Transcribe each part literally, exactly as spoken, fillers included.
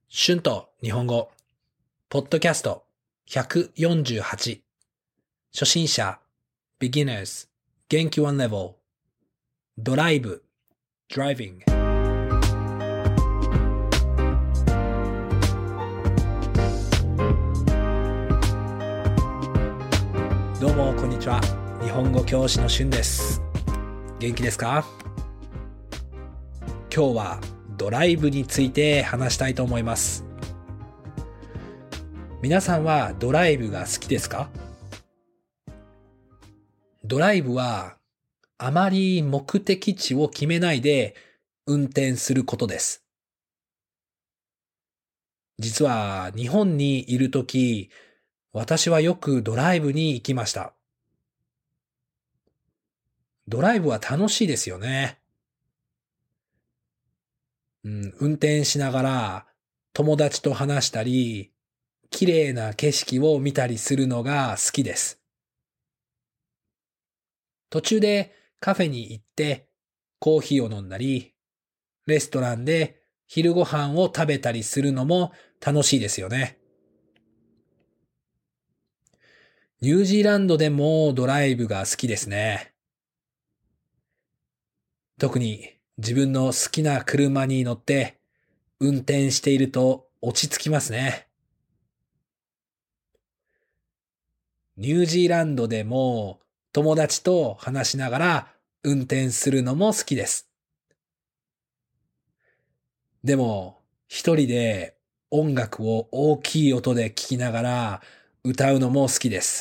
春と日本語、ポッドキャストひゃくよんじゅうはち、初心者、beginners、元気ワンレベル、ドライブ、driving。どうもこんにちは。日本語教師の春です。元気ですか？今日はドライブについて話したいと思います。皆さんはドライブが好きですか？ドライブはあまり目的地を決めないで運転することです。実は日本にいるとき、私はよくドライブに行きました。ドライブは楽しいですよね。うん、運転しながら友達と話したり、綺麗な景色を見たりするのが好きです。途中でカフェに行ってコーヒーを飲んだり、レストランで昼ご飯を食べたりするのも楽しいですよね。ニュージーランドでもドライブが好きですね。特に自分の好きな車に乗って運転していると落ち着きますね。ニュージーランドでも友達と話しながら運転するのも好きです。でも一人で音楽を大きい音で聴きながら歌うのも好きです。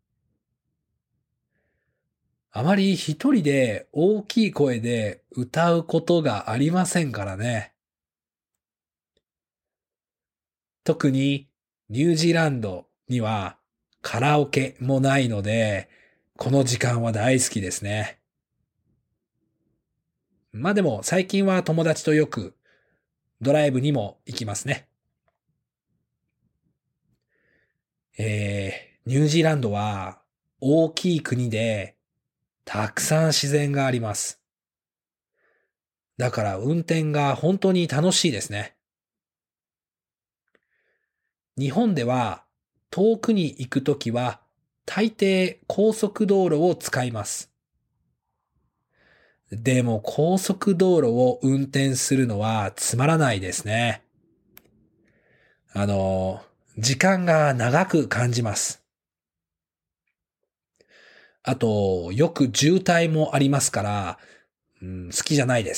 あまり一人で大きい声で歌うことがありませんからね。特にニュージーランドにはカラオケもないので、この時間は大好きですね。まあでも最近は友達とよくドライブにも行きますね。えー、ニュージーランドは大きい国でたくさん自然があります。だから運転が本当に楽しいですね。日本では遠くに行くときは大抵高速道路を使います。でも高速道路を運転するのはつまらないですね。あの、時間が長く感じます。あと、よく渋滞もありますから、うん、好きじゃないです。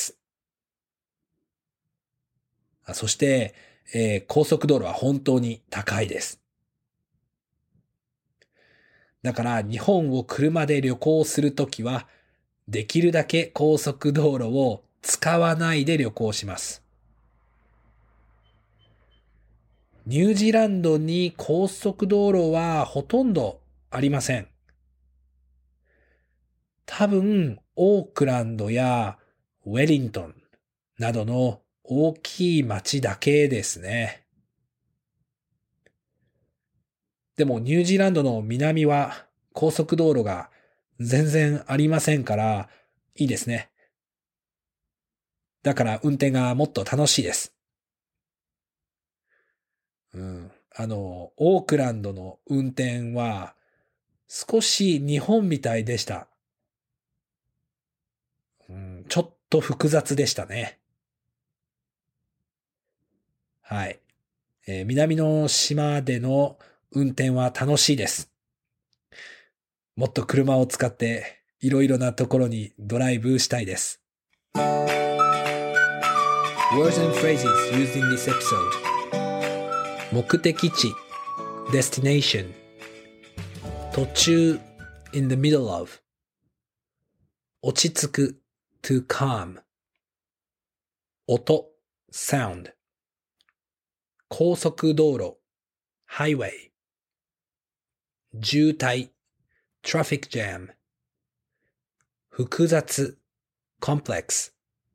そして、えー、高速道路は本当に高いです。だから日本を車で旅行するときは、できるだけ高速道路を使わないで旅行します。ニュージーランドに高速道路はほとんどありません。多分、オークランドやウェリントンなどの大きい町だけですね。でもニュージーランドの南は高速道路が全然ありませんからいいですね。だから運転がもっと楽しいです。うん、あの、オークランドの運転は少し日本みたいでした。うん、ちょっと複雑でしたね。はい、えー。南の島での運転は楽しいです。もっと車を使っていろいろなところにドライブしたいです。Words and phrases used in this episode. 目的地 destination 途中 in the middle of 落ち着く to calm 音 sound 高速道路 highway 渋滞 traffic jam 複雑 complex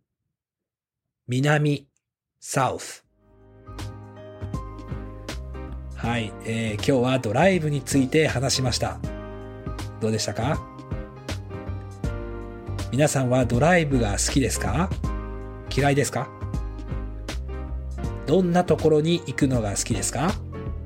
南 south はい、えー、今日はドライブについて話しました。どうでしたか？皆さんはドライブが好きですか？嫌いですか？ どんなところに行くのが好きですか？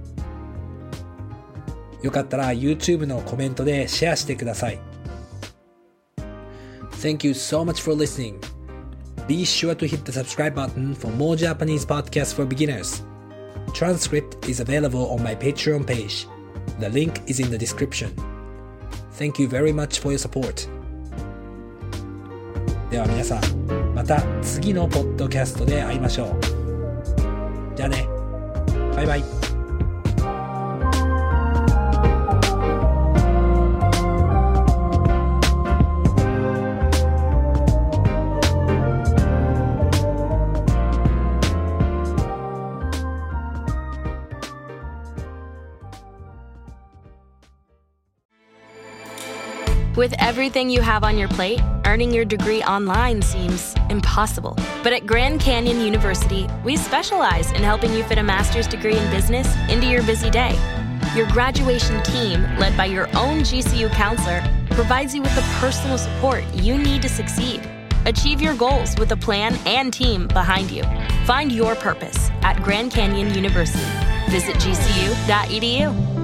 よかったら YouTube のコメントでシェアしてください。Thank you so much for listening. Be sure to hit the subscribe button for more Japanese podcasts for beginners. Transcript is available on my Patreon page. The link is in the description. Thank you very much for your support. では皆さん、また次のポッドキャストで会いましょう。じゃあね。バイバイ。 With everything you have on your plate, earning your degree online seems impossible. But at Grand Canyon University, we specialize in helping you fit a master's degree in business into your busy day. Your graduation team, led by your own G C U counselor, provides you with the personal support you need to succeed. Achieve your goals with a plan and team behind you. Find your purpose at Grand Canyon University. Visit G C U dot E D U.